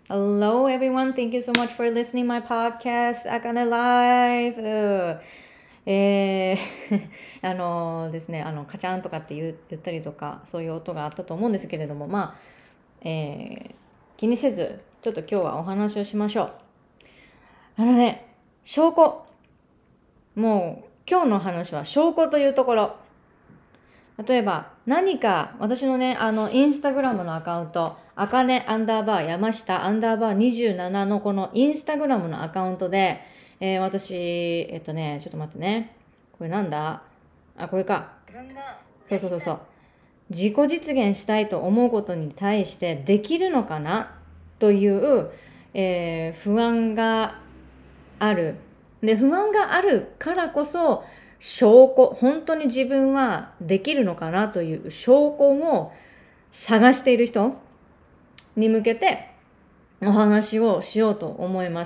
Hello, everyone. Thank you so much for listening my podcast, Akane Live.ですね、カチャンとかって言ったりとか、そういう音があったと思うんですけれども、気にせず、ちょっと今日はお話をしましょう。証拠。もう、今日の話は証拠というところ。例えば、何か、私のね、インスタグラムのアカウント、あかねアンダーバー山下アンダーバー27のこのインスタグラムのアカウントで、私、ちょっと待ってね。これなんだこれか。そう。自己実現したいと思うことに対してできるのかなという、不安がある。で、不安があるからこそ、証拠、本当に自分はできるのかなという証拠を探している人に向けてお話をしようと思います。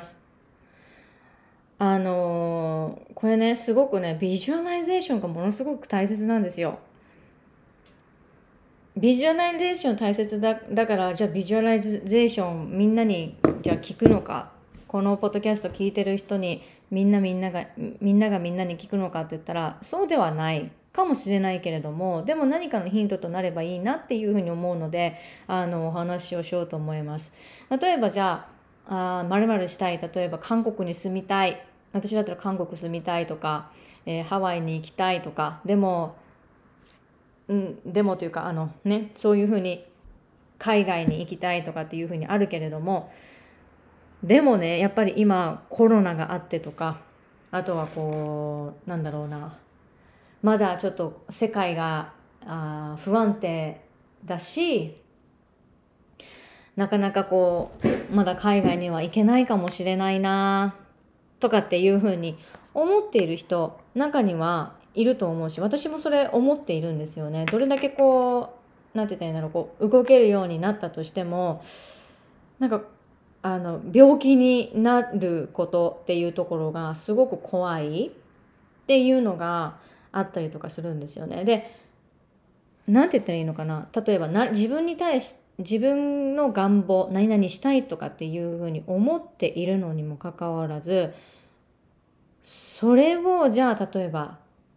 これね、すごくね、ビジュアライゼーションがものすごく大切なんですよ。ビジュアライゼーション大切だから、じゃあビジュアライゼーションみんなにじゃあ聞くのか、このポッドキャスト聞いてる人にみんながみんなに聞くのかって言ったら、そうではないかもしれないけれども、でも何かのヒントとなればいいなっていうふうに思うので、お話をしようと思います。例えばじゃ〇〇したい。例えば韓国に住みたい。私だったら韓国住みたいとか、ハワイに行きたいとか、でもというかそういうふうに海外に行きたいとかっていうふうにあるけれども、でもねやっぱり今コロナがあってとか、あとはまだちょっと世界が不安定だし、なかなかまだ海外には行けないかもしれないなとかっていうふうに思っている人中にはいると思うし、私もそれ思っているんですよね。どれだけなんて言ったらいいんだろう、動けるようになったとしても、なんか病気になることっていうところがすごく怖いっていうのがあったりとかするんですよね。で、なんて言ったらいいのかな、例えば自分の願望何々したいとかっていうふうに思っているのにもかかわらず、それをじゃあ例えば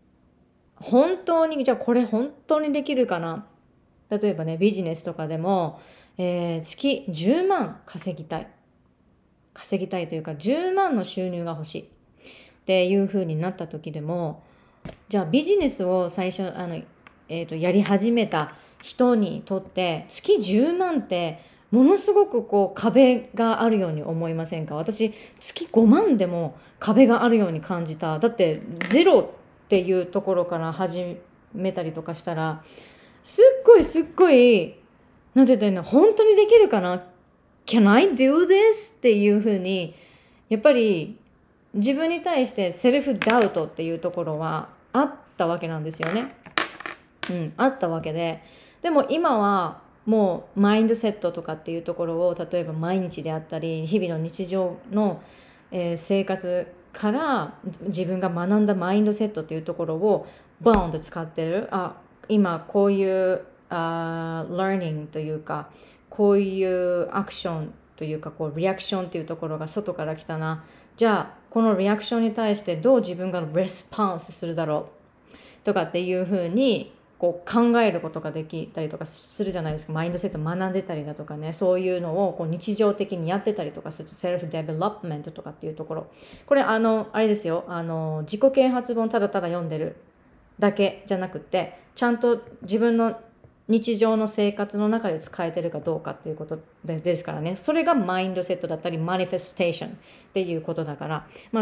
じゃあこれ本当にできるかな。例えばね、ビジネスとかでも、月10万稼ぎたいというか10万の収入が欲しいっていう風になった時でも、じゃあビジネスを最初やり始めた人にとって月10万ってものすごく壁があるように思いませんか？私月5万でも壁があるように感じた。だってゼロっていうところから始めたりとかしたら、すっごいなんて言ったらいいの、本当にできるかな、 Can I do this? っていうふうにやっぱり自分に対してセルフダウトっていうところはあったわけなんですよね。あったわけで、でも今はもうマインドセットとかっていうところを、例えば毎日であったり日々の日常の、生活から自分が学んだマインドセットっていうところをボーンと使ってる。今こういうlearning というか、こういうアクションというか、リアクションっていうところが外から来たな。じゃあこのリアクションに対してどう自分がレスポンスするだろうとかっていうふうに考えることができたりとかするじゃないですか。マインドセット学んでたりだとかね、そういうのを日常的にやってたりとかすると、セルフデベロップメントとかっていうところ、これあれですよ、自己啓発本ただただ読んでるだけじゃなくて、ちゃんと自分の日常の生活の中で使えてるかどうかっていうことですからね。それがマインドセットだったりマニフェステーションっていうことだから、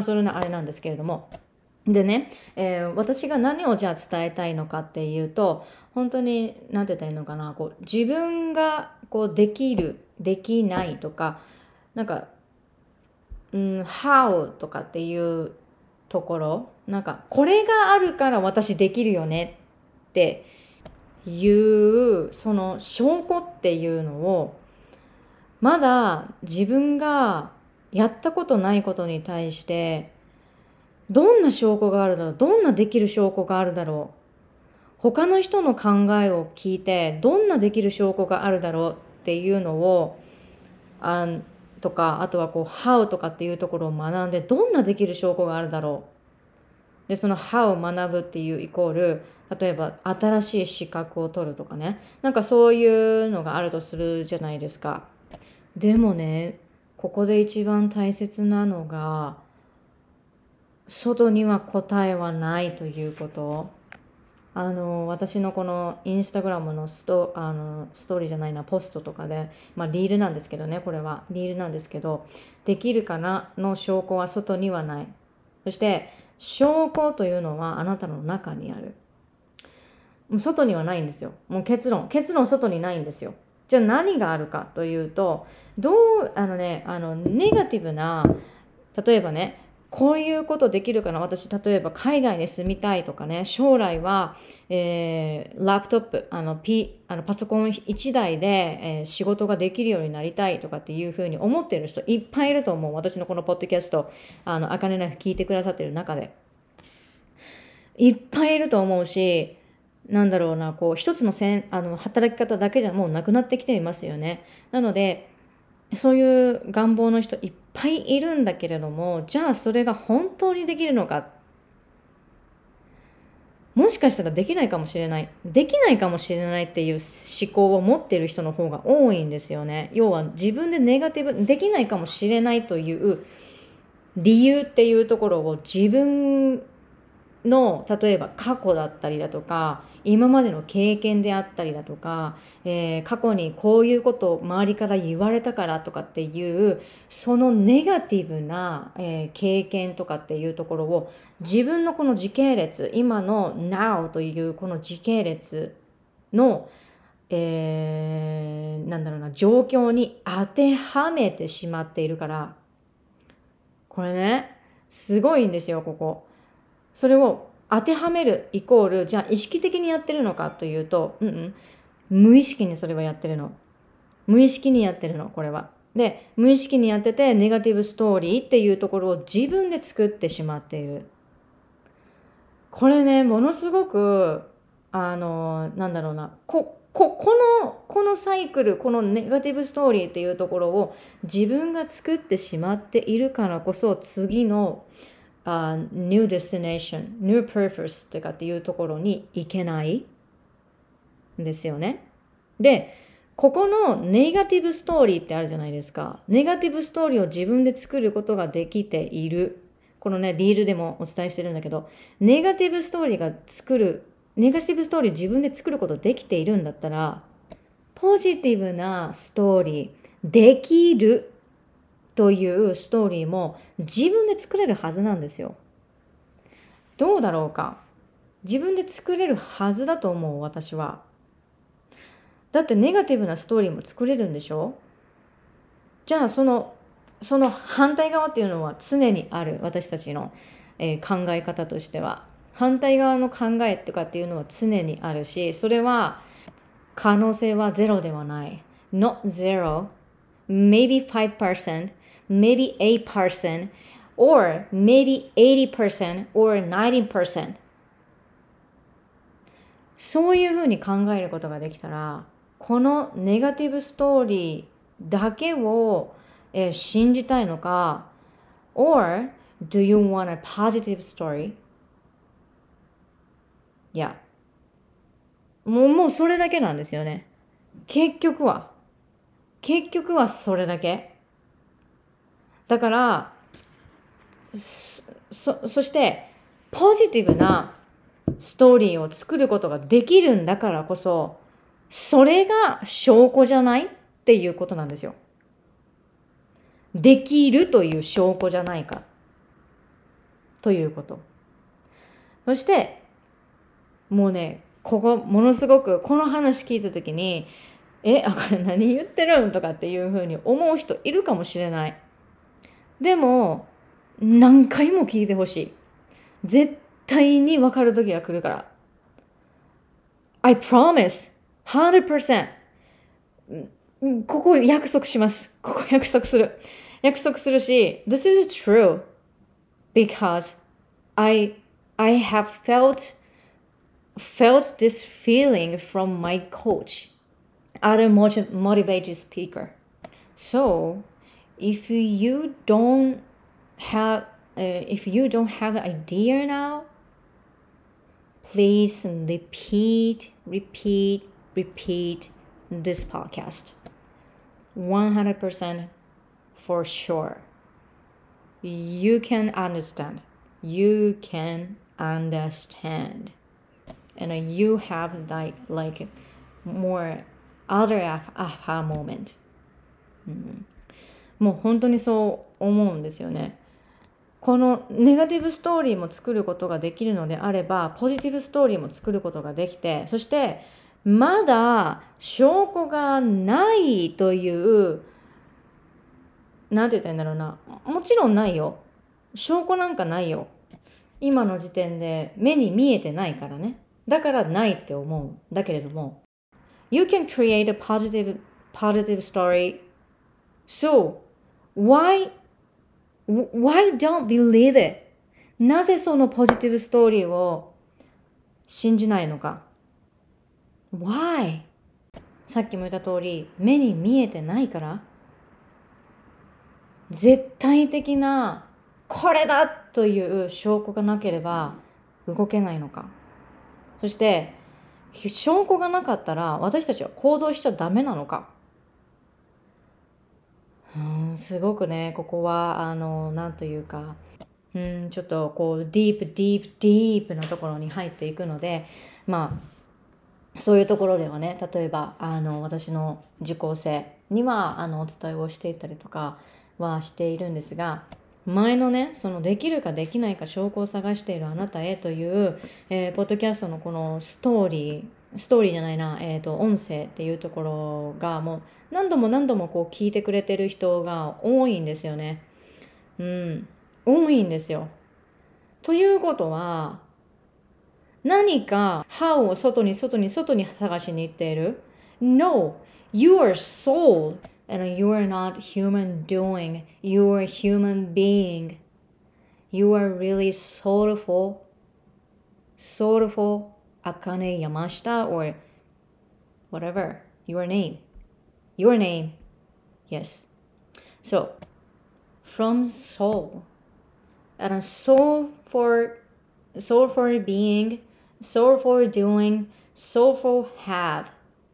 それのあれなんですけれども、でね、私が何をじゃあ伝えたいのかっていうと、本当に何て言ったらいいのかな、自分ができるできないとか、なんかhow とかっていうところ、これがあるから私できるよねっていうその証拠っていうのを、まだ自分がやったことないことに対してどんな証拠があるだろう、どんなできる証拠があるだろう、他の人の考えを聞いてどんなできる証拠があるだろうっていうのをとか、あとはこう how とかっていうところを学んで、どんなできる証拠があるだろう。で、その how を学ぶっていうイコール、例えば新しい資格を取るとかね。なんかそういうのがあるとするじゃないですか。でもね、ここで一番大切なのが、外には答えはないということ。私のこのインスタグラムのストーリーじゃないな、ポストとかで、リールなんですけどね、これは。リールなんですけど、できるかなの証拠は外にはない。そして、証拠というのはあなたの中にある。もう外にはないんですよ。もう結論外にないんですよ。じゃあ何があるかというと、ネガティブな、例えばね、こういうことできるかな、私、例えば海外に住みたいとかね、将来は、ラップトップ、パソコン1台で、仕事ができるようになりたいとかっていうふうに思ってる人いっぱいいると思う。私のこのポッドキャスト、あかねナイフ聞いてくださってる中で。いっぱいいると思うし、こう、一つの働き方だけじゃもうなくなってきていますよね。なので、そういう願望の人いっぱいいるんだけれども、じゃあそれが本当にできるのか。もしかしたらできないかもしれない。できないかもしれないっていう思考を持っている人の方が多いんですよね。要は自分でネガティブ、できないかもしれないという理由っていうところを自分の例えば過去だったりだとか今までの経験であったりだとか、過去にこういうことを周りから言われたからとかっていうそのネガティブな、経験とかっていうところを自分のこの時系列今の Now というこの時系列の、状況に当てはめてしまっているからこれねすごいんですよここ。それを当てはめるイコール、じゃあ意識的にやってるのかというと、無意識にそれはやってるの。無意識にやってるの、これは。で、無意識にやってて、ネガティブストーリーっていうところを自分で作ってしまっている。これね、ものすごく、このサイクル、このネガティブストーリーっていうところを自分が作ってしまっているからこそ、次のnew destination, new purpose とかっていうところに行けないんですよね。で、ここのネガティブストーリーってあるじゃないですか。ネガティブストーリーを自分で作ることができている。このね、リールでもお伝えしてるんだけど、ネガティブストーリー自分で作ることできているんだったら、ポジティブなストーリー、できるというストーリーも自分で作れるはずなんですよ。どうだろうか。自分で作れるはずだと思う、私は。だってネガティブなストーリーも作れるんでしょ。じゃあその反対側っていうのは常にある、私たちの、考え方としては。反対側の考えとかっていうのは常にあるし、それは可能性はゼロではない。Not zero, maybe 5%, maybe 8%, or maybe 80% or 90%。そういうふうに考えることができたら、このネガティブストーリーだけを、信じたいのか、or do you want a positive story? いや、もうそれだけなんですよね。結局はそれだけ。だから、そしてポジティブなストーリーを作ることができるんだからこそ、それが証拠じゃないっていうことなんですよ。できるという証拠じゃないかということ。そしてもうね、ここものすごくこの話聞いた時にこれ何言ってるんとかっていうふうに思う人いるかもしれない。でも何回も聞いてほしい。絶対に分かる時が来るから。I promise 100%ここ約束します。ここ約束するし This is true because I have felt this feeling from my coach, other motivated speaker. So if you don't have if you don't have an idea now, please repeat this podcast. 100% for sure. You can understand. You can understand. And you have like more other aha moment. もう本当にそう思うんですよね。このネガティブストーリーも作ることができるのであれば、ポジティブストーリーも作ることができて、そしてまだ証拠がないという、なんて言ったらいいんだろうな。もちろんないよ。証拠なんかないよ。今の時点で目に見えてないからね。だからないって思う。だけれども、You can create a positive story. So, why don't believe it? なぜそのポジティブストーリーを信じないのか。Why? さっきも言った通り、目に見えてないから、絶対的なこれだという証拠がなければ動けないのか。そして証拠がなかったら私たちは行動しちゃダメなのか。すごくね、ここはなんというか、ちょっとこうディープなところに入っていくので、そういうところではね、例えば私の受講生にはお伝えをしていたりとかはしているんですが、前のね、そのできるかできないか証拠を探しているあなたへという、ポッドキャストのこのストーリーじゃないな、音声っていうところがもう何度もこう聞いてくれてる人が多いんですよね。多いんですよ。ということは、何か how を外に探しに行っている。No, you are soul and you are not human doing. You are human being. You are really soulful. Akane Yamashita or whatever. Your name. Yes. So, from soul. And soul for being, soul for doing, soul for have.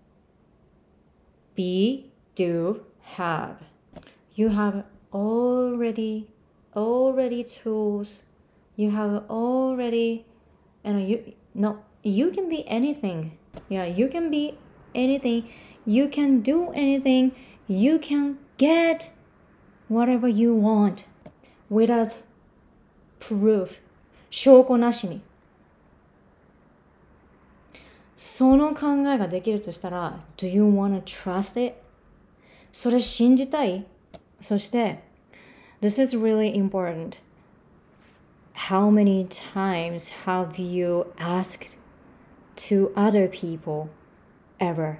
Be, do, have. You have already tools. You have already, and you can be anything. Yeah, you can be anything. You can do anything. You can get whatever you want without proof. 証拠なしに。その考えができるとしたら、Do you want to trust it? それ信じたい？そして、This is really important. How many times have you asked to other people ever?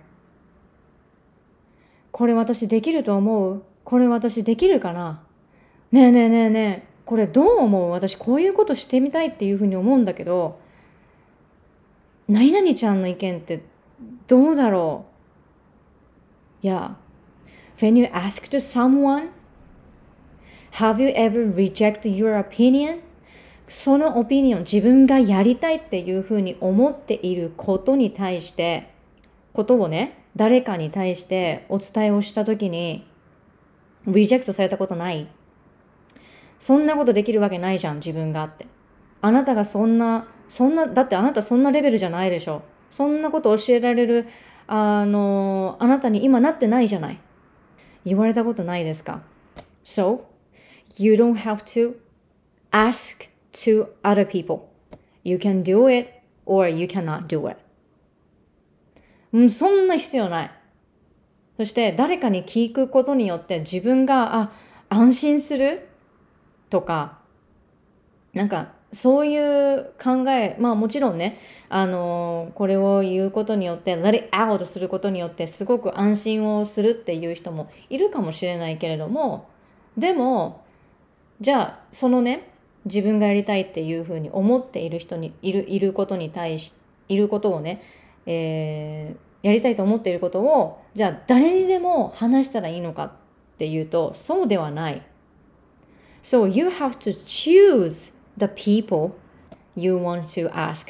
これ私できると思う？これ私できるかな？ねえ。これどう思う？私こういうことしてみたいっていうふうに思うんだけど、何々ちゃんの意見ってどうだろう？ Yeah. When you ask to someone, have you ever rejected your opinion? そのオピニオン、自分がやりたいっていうふうに思っていることに対して、ことをね、誰かに対してお伝えをしたときに、リジェクトされたことない？そんなことできるわけないじゃん、自分がって。あなたがだってあなたそんなレベルじゃないでしょ。そんなこと教えられる、あなたに今なってないじゃない。言われたことないですか？ So, you don't have to ask to other people. You can do it or you cannot do it. そんな必要ない。そして誰かに聞くことによって自分が安心するとか、なんかそういう考え、もちろんね、これを言うことによって let it out することによってすごく安心をするっていう人もいるかもしれないけれども、でもじゃあそのね、自分がやりたいっていうふうに思っている人にいることに対しいることをね、やりたいと思っていることをじゃあ誰にでも話したらいいのかっっていうと、そうではない。So you have to choose the people you want to ask.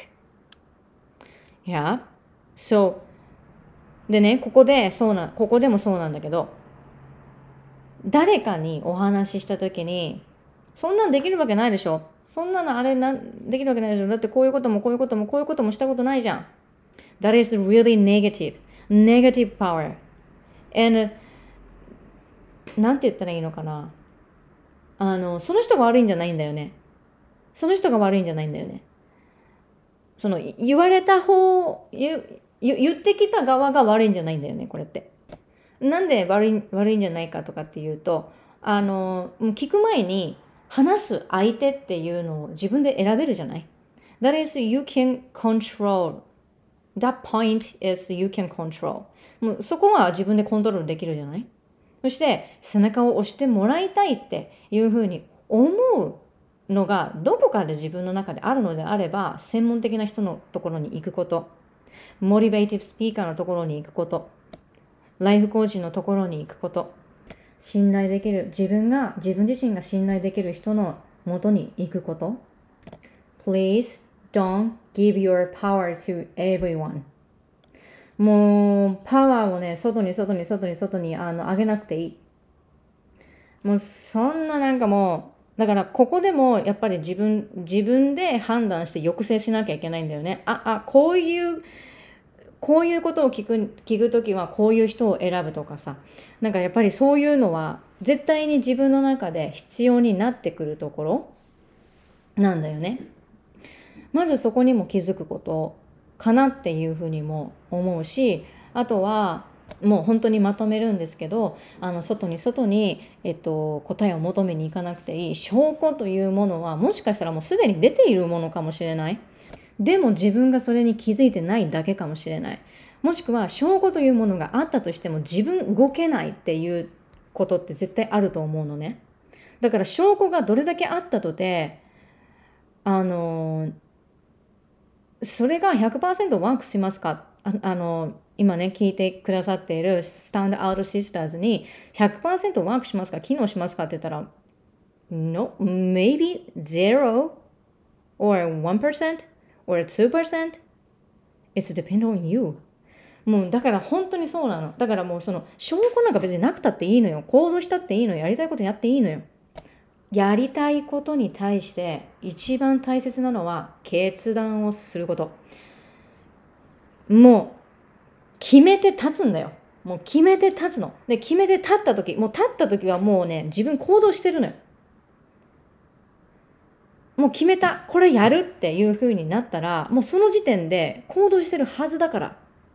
Yeah. So でね、ここでもそうなんだけど、誰かにお話ししたときに、そんなんできるわけないでしょ。そんなのできるわけないでしょ。だってこういうこともこういうこともこういうこともしたことないじゃん。That is really negative. Negative power. And なんて言ったらいいのかな。その人が悪いんじゃないんだよね。その人が悪いんじゃないんだよね。その言われた言ってきた側が悪いんじゃないんだよね、これって。なんで悪いんじゃないかとかっていうと、聞く前に話す相手っていうのを自分で選べるじゃない。That is, you can control. That point is you can control. もうそこは自分でコントロールできるじゃない。そして背中を押してもらいたいっていうふうに思うのがどこかで自分の中であるのであれば、専門的な人のところに行くこと、モチベーティブスピーカーのところに行くこと、ライフコーチのところに行くこと、信頼できる、自分自身が信頼できる人のもとに行くこと。Please don't give your power to everyone. もうパワーをね、外に上げなくていい。もうそんななんかもう、だからここでもやっぱり自分で判断して抑制しなきゃいけないんだよね。こういうことを聞くときはこういう人を選ぶとかさ。なんかやっぱりそういうのは絶対に自分の中で必要になってくるところなんだよね。まずそこにも気づくことかなっていうふうにも思うし、あとはもう本当にまとめるんですけど、外に、答えを求めに行かなくていい。証拠というものはもしかしたらもうすでに出ているものかもしれない。でも自分がそれに気づいてないだけかもしれない。もしくは証拠というものがあったとしても自分動けないっていうことって絶対あると思うのね。だから証拠がどれだけあったとて、それが 100% ワークしますか？今ね、聞いてくださっているスタンドアウトシスターズに 100% ワークしますか？機能しますかって言ったら、No, maybe 0 or 1% or 2%. It's depend on you. もうだから本当にそうなの。だからもうその証拠なんか別になくたっていいのよ。行動したっていいのよ。やりたいことやっていいのよ。やりたいことに対して一番大切なのは決断をすること。もう決めて立つんだよ。もう決めて立つの。で、決めて立った時はもうね、自分行動してるのよ。もう決めた。これやるっていう風になったら、もうその時点で行動してるはずだから。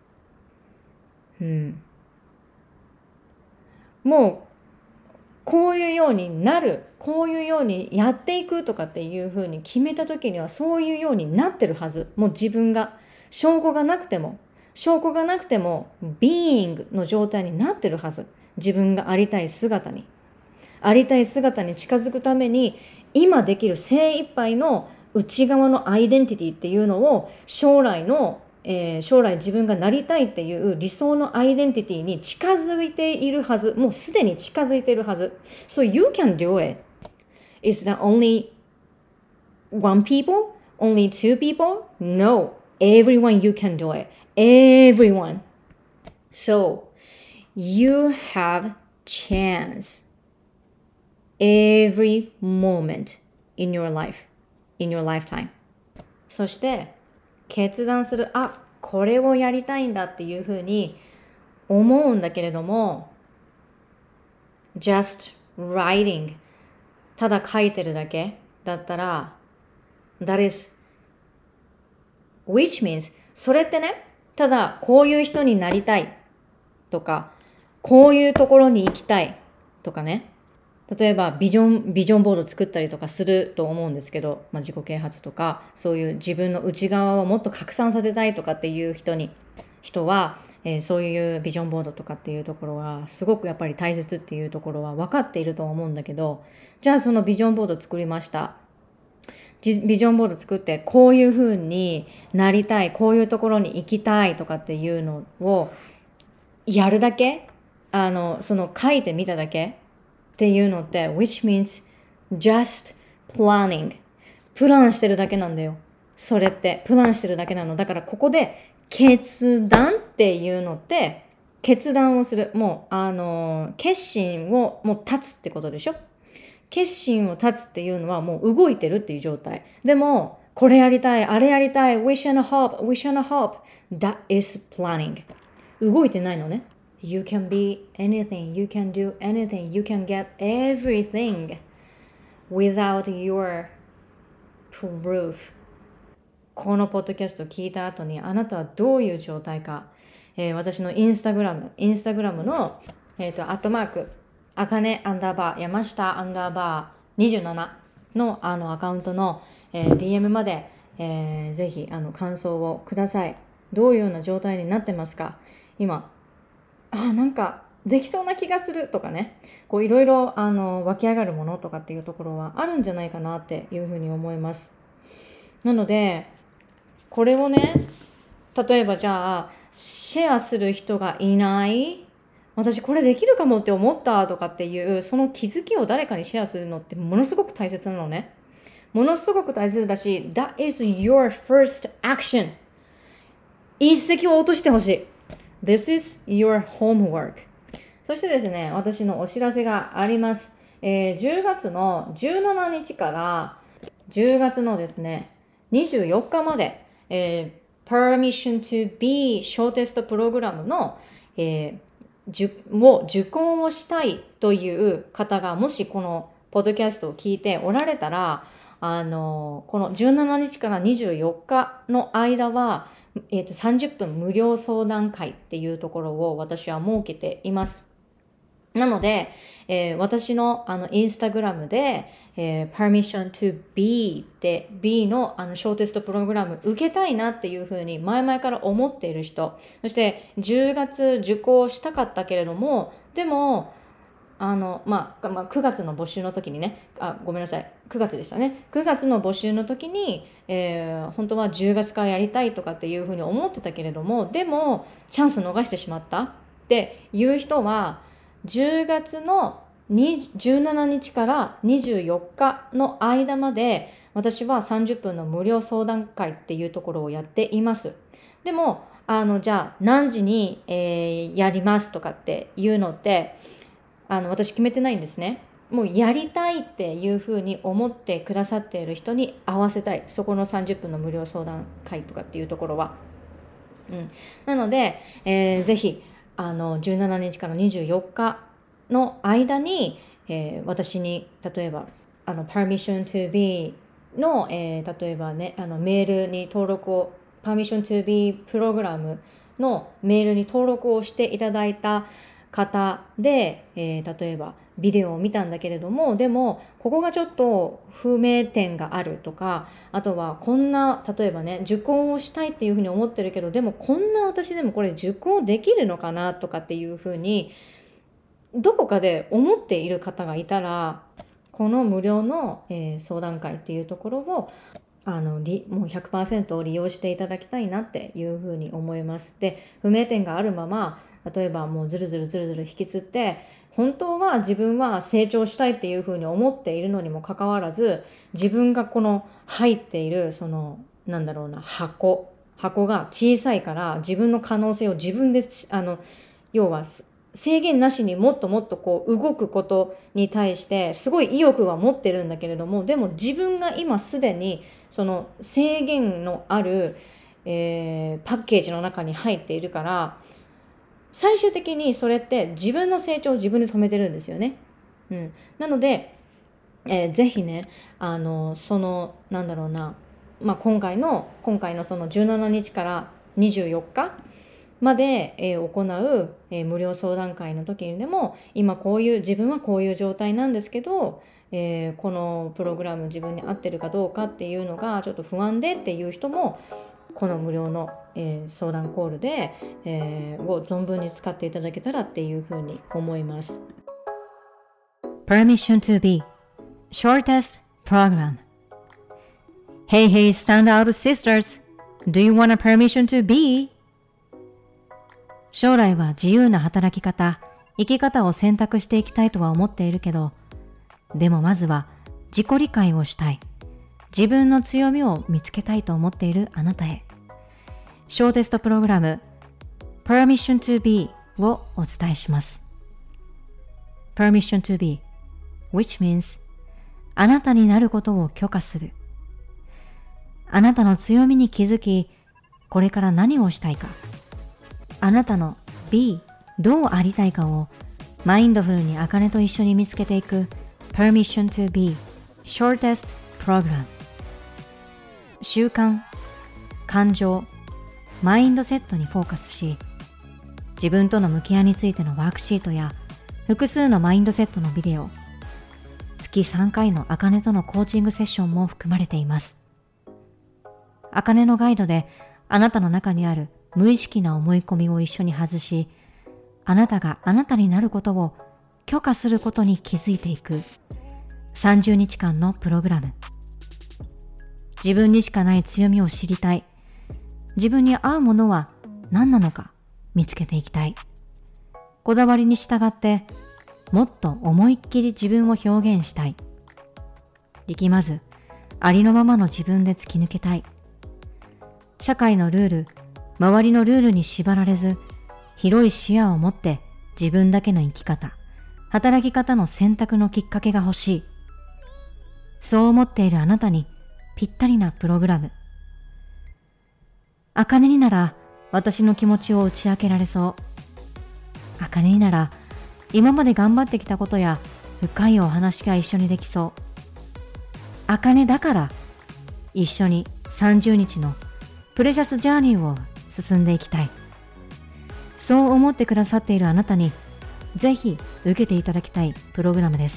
もう、こういうようになる。こういうようにやっていくとかっていう風に決めた時にはそういうようになってるはず。もう自分が。証拠がなくても、being の状態になってるはず。自分がありたい姿に近づくために、今できる精一杯の内側のアイデンティティっていうのを将来自分がなりたいっていう理想のアイデンティティに近づいているはず。もうすでに近づいているはず。So you can do it. Is that only one people? Only two people? No. Everyone you can do it. Everyone. So you have chance every moment in your life, in your lifetime. そして決断する、これをやりたいんだっていうふうに思うんだけれども、just writing ただ書いてるだけだったら、that is which means それってね、ただこういう人になりたいとか、こういうところに行きたいとかね、例えばビジョンボード作ったりとかすると思うんですけど、自己啓発とかそういう自分の内側をもっと拡散させたいとかっていう人は、そういうビジョンボードとかっていうところはすごくやっぱり大切っていうところは分かっていると思うんだけど、じゃあそのビジョンボード作りました。ビジョンボード作ってこういう風になりたい、こういうところに行きたいとかっていうのをやるだけ、その書いてみただけっていうのって which means just planning プランしてるだけなんだよ。それってプランしてるだけなの。だからここで決断っていうのって決断をする。もう決心をもう立つってことでしょ。決心を立つっていうのはもう動いてるっていう状態。でもこれやりたい、あれやりたい、wish and hope that is planning 動いてないのね。You can be anything, you can do anything, you can get everything without your proof このポッドキャストを聞いた後にあなたはどういう状態か、私のインスタグラムの、アットマークあかね_山下_27のアカウントの、DM まで、ぜひ感想をください。どういうような状態になってますか？今なんかできそうな気がするとかね、こういろいろ湧き上がるものとかっていうところはあるんじゃないかなっていうふうに思います。なのでこれをね、例えばじゃあシェアする人がいない、私これできるかもって思ったとかっていうその気づきを誰かにシェアするのってものすごく大切なのね。ものすごく大切だし That is your first action。 一石を落としてほしい。 This is your homework。 そしてですね、私のお知らせがあります。10月の17日から10月のですね24日まで、Permission to be 小テストプログラムの、受講をしたいという方がもしこのポッドキャストを聞いておられたら、この17日から24日の間は、30分無料相談会っていうところを私は設けています。なので、私のインスタグラムで、Permission to be って B の小テストプログラム受けたいなっていうふうに前々から思っている人、そして10月受講したかったけれども、でも9月の募集の時にね、ごめんなさい、9月でしたね。9月の募集の時に、本当は10月からやりたいとかっていうふうに思ってたけれども、でもチャンス逃してしまったっていう人は、10月の17日から24日の間まで私は30分の無料相談会っていうところをやっています。でもじゃあ何時に、やりますとかっていうのって私決めてないんですね。もうやりたいっていうふうに思ってくださっている人に合わせたい、そこの30分の無料相談会とかっていうところは、なので、ぜひ17日から24日の間に、私に例えばPermission to be の、例えばねメールに登録を Permission to be プログラムのメールに登録をしていただいた方で、例えばビデオを見たんだけれども、でもここがちょっと不明点があるとか、あとはこんな例えばね受講をしたいっていうふうに思ってるけど、でもこんな私でもこれ受講できるのかなとかっていうふうにどこかで思っている方がいたら、この無料の、相談会っていうところをもう 100% 利用していただきたいなっていうふうに思います。で、不明点があるまま例えばもうずるずる引きつって、本当は自分は成長したいっていうふうに思っているのにもかかわらず、自分がこの入っているその箱が小さいから、自分の可能性を自分で要は制限なしにもっともっとこう動くことに対してすごい意欲は持ってるんだけれども、でも自分が今すでにその制限のある、パッケージの中に入っているから、最終的にそれって自分の成長を自分で止めてるんですよね。なので、ぜひねその今回のその17日から24日まで、行う、無料相談会の時にでも、今自分はこういう状態なんですけど、このプログラム自分に合ってるかどうかっていうのがちょっと不安でっていう人も、この無料の、相談コールで、を存分に使っていただけたらっていうふうに思います。 Permission to be Shortest Program. Hey standout sisters, do you want a permission to be? 将来は自由な働き方、 生き方を選択していきたいとは思っているけど、でもまずは自己理解をしたい。自分の強みを見つけたいと思っているあなたへ。ショーテストプログラム Permission to Be をお伝えします。Permission to Be, which means あなたになることを許可する。あなたの強みに気づき、これから何をしたいか。あなたの Be、どうありたいかをマインドフルにあかねと一緒に見つけていく Permission to Be Shortest Program。習慣、感情、マインドセットにフォーカスし、自分との向き合いについてのワークシートや複数のマインドセットのビデオ、月3回のあかねとのコーチングセッションも含まれています。あかねのガイドであなたの中にある無意識な思い込みを一緒に外し、あなたがあなたになることを許可することに気づいていく30日間のプログラム。自分にしかない強みを知りたい。自分に合うものは何なのか見つけていきたい。こだわりに従ってもっと思いっきり自分を表現したい。力まずありのままの自分で突き抜けたい。社会のルール、周りのルールに縛られず、広い視野を持って自分だけの生き方、働き方の選択のきっかけが欲しい。そう思っているあなたにぴったりなプログラム。あかねになら私の気持ちを打ち明けられそう。あかねになら今まで頑張ってきたことや深いお話が一緒にできそう。あかねだから一緒に30日のプレシャスジャーニーを進んでいきたい。そう思ってくださっているあなたにぜひ受けていただきたいプログラムです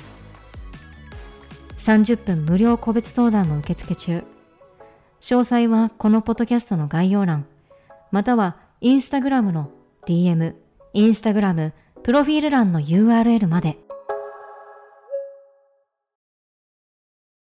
。30分無料個別相談も受付中。詳細はこのポッドキャストの概要欄、またはインスタグラムの DM、インスタグラムプロフィール欄の URL まで。